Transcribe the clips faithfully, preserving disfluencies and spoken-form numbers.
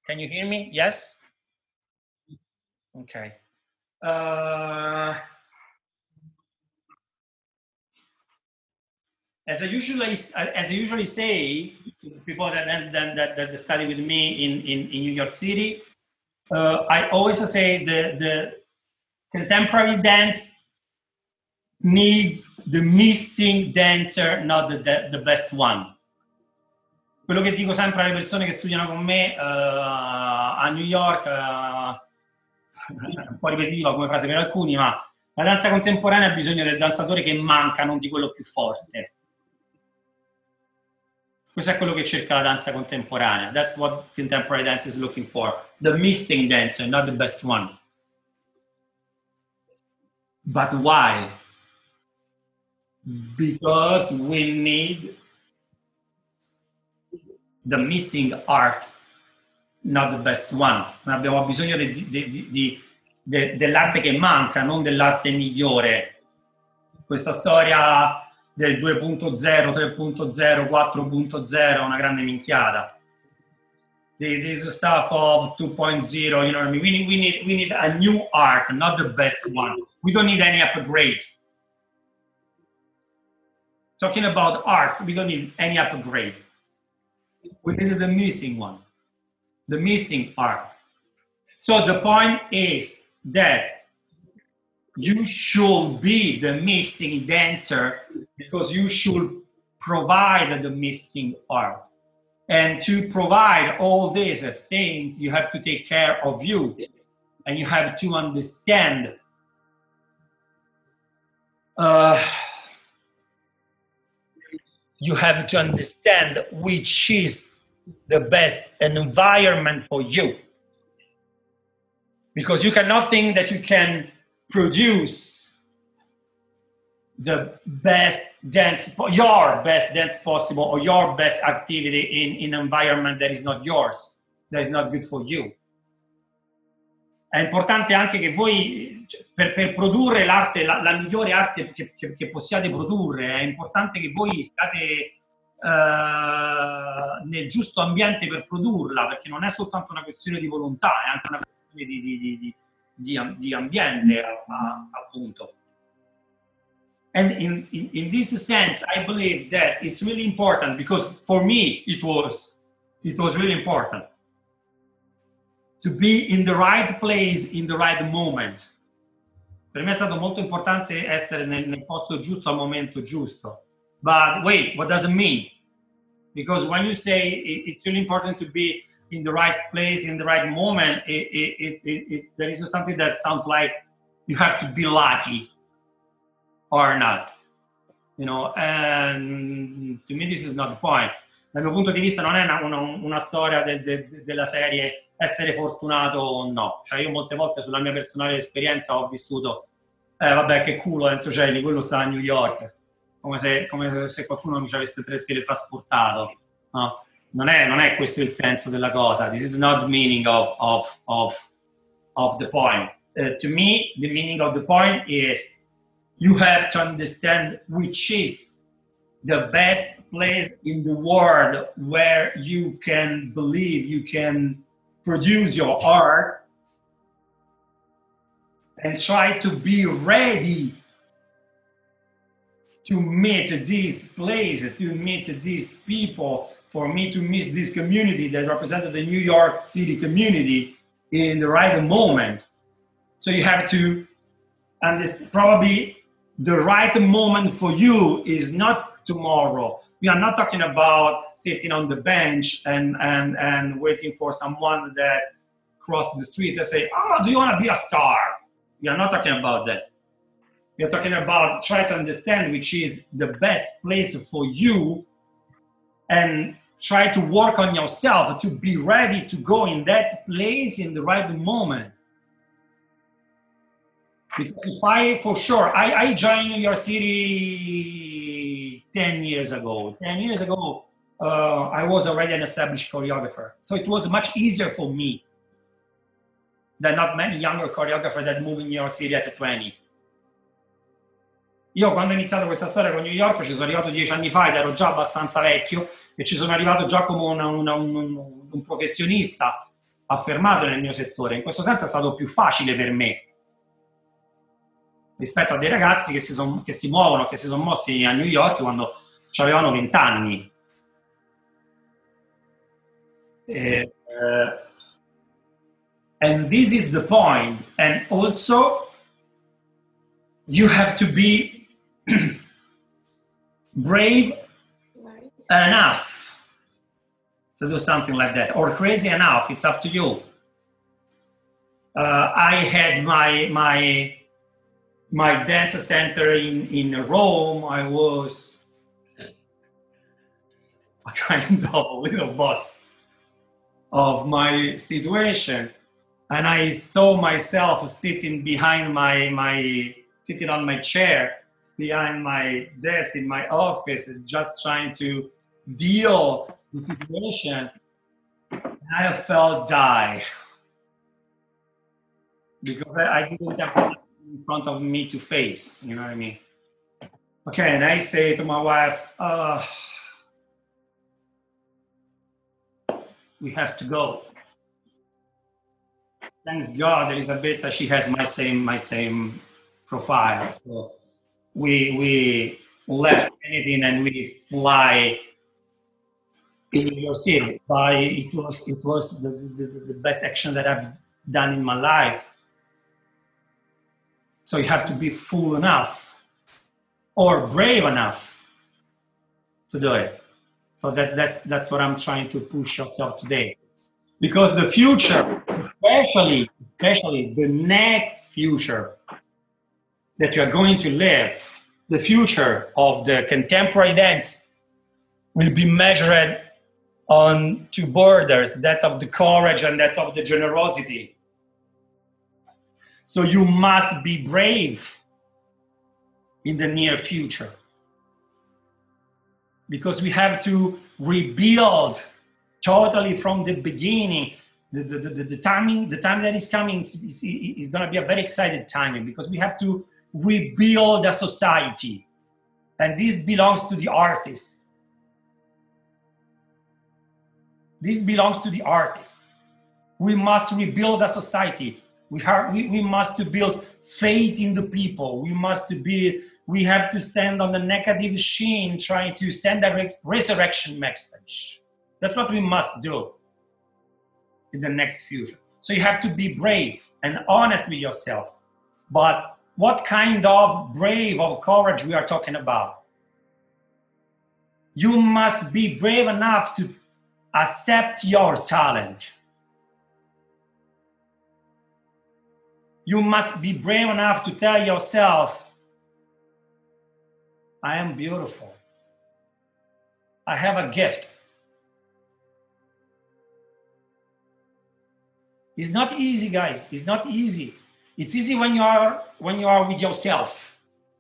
Can you hear me? Yes? Okay. Uh, as I usually as I usually say to the people that that, that, that study with me in, in, in New York City, uh, I always say the, the contemporary dance needs the missing dancer, not the, the, the best one. Quello che dico sempre alle persone che studiano con me uh, a New York, uh, un po' ripetitiva come frase per alcuni, ma la danza contemporanea ha bisogno del danzatore che manca, non di quello più forte. Questo è quello che cerca la danza contemporanea. That's what contemporary dance is looking for. The missing dancer, not the best one. But why? Because we need the missing art, not the best one. Abbiamo bisogno di, di, di, di, dell'arte che manca, non dell'arte migliore. Questa storia del due punto zero, tre punto zero, quattro punto zero è una grande minchiata. This stuff of two point zero, you know what I mean? We need, we need, we need a new art, not the best one. We don't need any upgrade. Talking about art, we don't need any upgrade. We need the missing one, the missing art. So the point is that you should be the missing dancer because you should provide the missing art. And to provide all these things, you have to take care of you and you have to understand uh, you have to understand which is the best environment for you. Because you cannot think that you can produce the best dance, your best dance possible, or your best activity in, in an environment that is not yours, that is not good for you. È importante anche che voi, per, per produrre l'arte, la, la migliore arte che, che, che possiate produrre, è importante che voi stiate uh, nel giusto ambiente per produrla, perché non è soltanto una questione di volontà, è anche una questione di, di, di, di, di, di ambiente, a, appunto. And in, in, in this sense, I believe that it's really important, because for me it was, it was really important to be in the right place, in the right moment. Per me è stato molto importante essere nel, nel posto giusto al momento giusto. But wait, what does it mean? Because when you say it, it's really important to be in the right place, in the right moment, it, it, it, it, it, there is something that sounds like you have to be lucky or not. You know, and to me this is not the point. Dal mio punto di vista non è una, una, una storia de, de, della serie essere fortunato o no. Cioè io molte volte sulla mia personale esperienza ho vissuto eh vabbè che culo Enzo Celli, quello sta a New York, come se, come se qualcuno mi ci avesse teletrasportato, no? Non è, non è questo il senso della cosa. This is not the meaning of, of, of, of the point. Uh, to me, the meaning of the point is you have to understand which is the best place in the world where you can believe, you can produce your art, and try to be ready to meet this place, to meet these people, for me to meet this community that represented the New York City community in the right moment. So you have to understand, probably the right moment for you is not tomorrow. We are not talking about sitting on the bench and, and, and waiting for someone that crossed the street and say, oh, do you want to be a star? We are not talking about that. We are talking about try to understand which is the best place for you and try to work on yourself to be ready to go in that place in the right moment. Because if I, for sure, I, I joined New York City ten years ago. ten years ago, uh, I was already an established choreographer. So it was much easier for me than not many younger choreographers that moved in New York City at twenty. Io quando ho iniziato questa storia con New York ci sono arrivato dieci anni fa ed ero già abbastanza vecchio e ci sono arrivato già come una, una, un, un professionista affermato nel mio settore. In questo senso è stato più facile per me rispetto a dei ragazzi che si, son, che si muovono, che si sono mossi a New York quando avevano venti anni. E, uh, and this is the point. And also, you have to be brave enough to do something like that, or crazy enough. It's up to you. Uh, I had my my my dance center in in Rome. I was a kind of little boss of my situation, and I saw myself sitting behind my my sitting on my chair behind my desk in my office, just trying to deal with the situation. And I felt die because I didn't have anything in front of me to face. You know what I mean? Okay, and I say to my wife, uh, we have to go. Thanks God, Elisabetta, she has my same my same profile. So we we left anything and we fly in New York City. But it was it was the, the, the best action that I've done in my life. So you have to be fool enough or brave enough to do it. So that, that's that's what I'm trying to push yourself today. Because the future, especially, especially the next future that you are going to live, the future of the contemporary dance will be measured on two borders, that of the courage and that of the generosity. So you must be brave in the near future. Because we have to rebuild totally from the beginning. The, the, the, the timing, the time that is coming is, is, is going to be a very excited timing because we have to rebuild a society. And this belongs to the artist. This belongs to the artist. We must rebuild a society. We, have, we, we must build faith in the people. We must be, we have to stand on the negative machine trying to send a resurrection message. That's what we must do in the next future. So you have to be brave and honest with yourself. But what kind of brave or courage we are talking about? You must be brave enough to accept your talent. You must be brave enough to tell yourself, I am beautiful. I have a gift. It's not easy, guys. It's not easy. It's easy when you are when you are with yourself.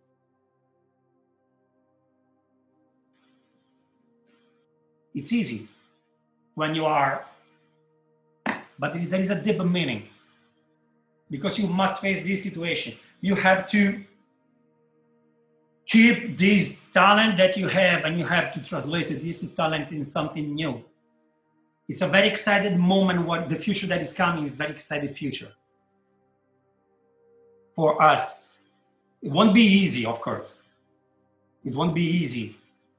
It's easy when you are, but there is a deeper meaning because you must face this situation. You have to keep this talent that you have and you have to translate this talent in something new. It's a very excited moment. What the future that is coming is very excited future for us. It won't be easy, of course. It won't be easy.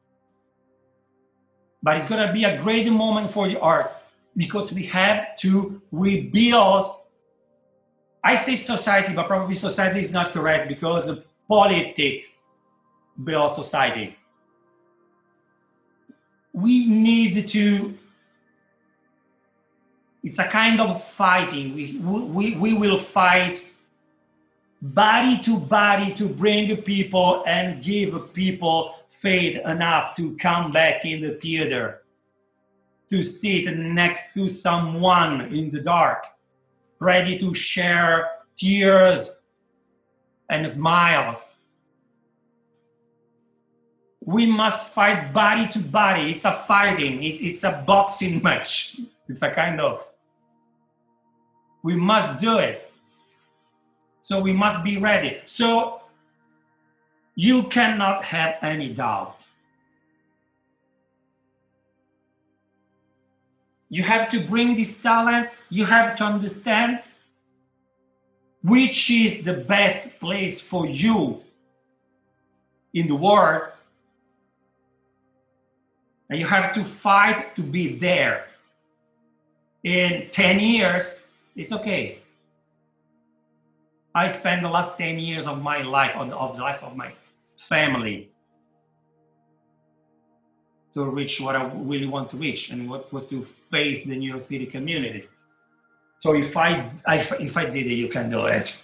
But it's going to be a great moment for the arts because we have to rebuild. I say society, but probably society is not correct because politics build society. We need to. It's a kind of fighting. We, we, we will fight body to body to bring people and give people faith enough to come back in the theater, to sit next to someone in the dark, ready to share tears and smiles. We must fight body to body. It's a fighting. It, it's a boxing match. It's a kind of. We must do it. So we must be ready. So you cannot have any doubt. You have to bring this talent. You have to understand which is the best place for you in the world. And you have to fight to be there. In ten years, it's okay. I spent the last ten years of my life, of the, of the life of my family, to reach what I really want to reach, and what was to face the New York City community. So if I, I if I did it, you can do it.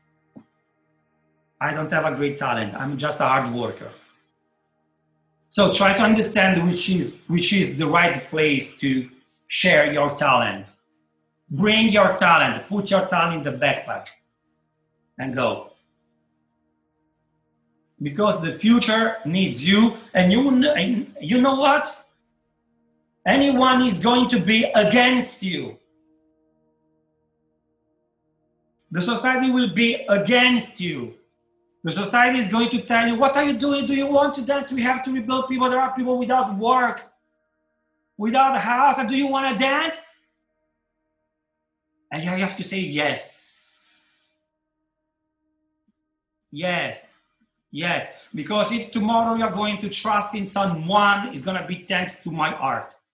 I don't have a great talent. I'm just a hard worker. So try to understand which is which is the right place to share your talent. Bring your talent. Put your talent in the backpack and go. Because the future needs you, and you know, you know what? Anyone is going to be against you. The society will be against you. The society is going to tell you, what are you doing? Do you want to dance? We have to rebuild people. There are people without work, without a house. And do you want to dance? And you have to say yes. Yes. Yes. Because if tomorrow you're going to trust in someone, it's going to be thanks to my art.